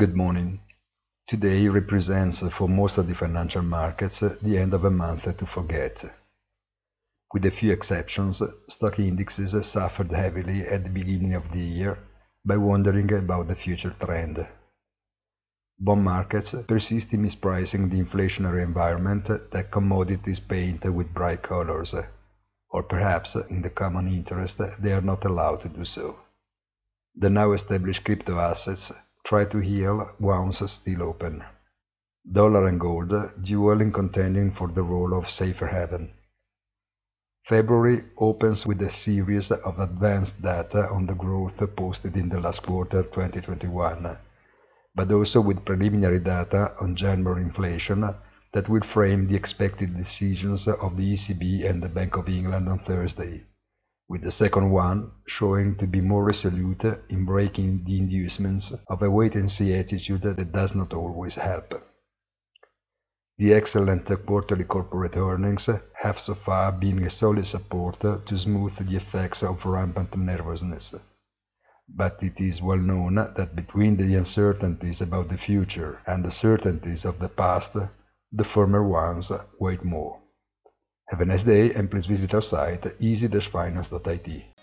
Good morning. Today represents for most of the financial markets the end of a month to forget. With a few exceptions, stock indexes suffered heavily at the beginning of the year by wondering about the future trend. Bond markets persist in mispricing the inflationary environment that commodities paint with bright colors, or perhaps, in the common interest, they are not allowed to do so. The now established crypto assets try to heal wounds still open. Dollar and gold dueling contending for the role of safer haven. February opens with a series of advanced data on the growth posted in the last quarter 2021, but also with preliminary data on January inflation that will frame the expected decisions of the ECB and the Bank of England on Thursday, with the second one showing to be more resolute in breaking the inducements of a wait-and-see attitude that does not always help. The excellent quarterly corporate earnings have so far been a solid support to smooth the effects of rampant nervousness. But it is well known that between the uncertainties about the future and the certainties of the past, the former ones weigh more. Have a nice day and please visit our site easy-finance.it.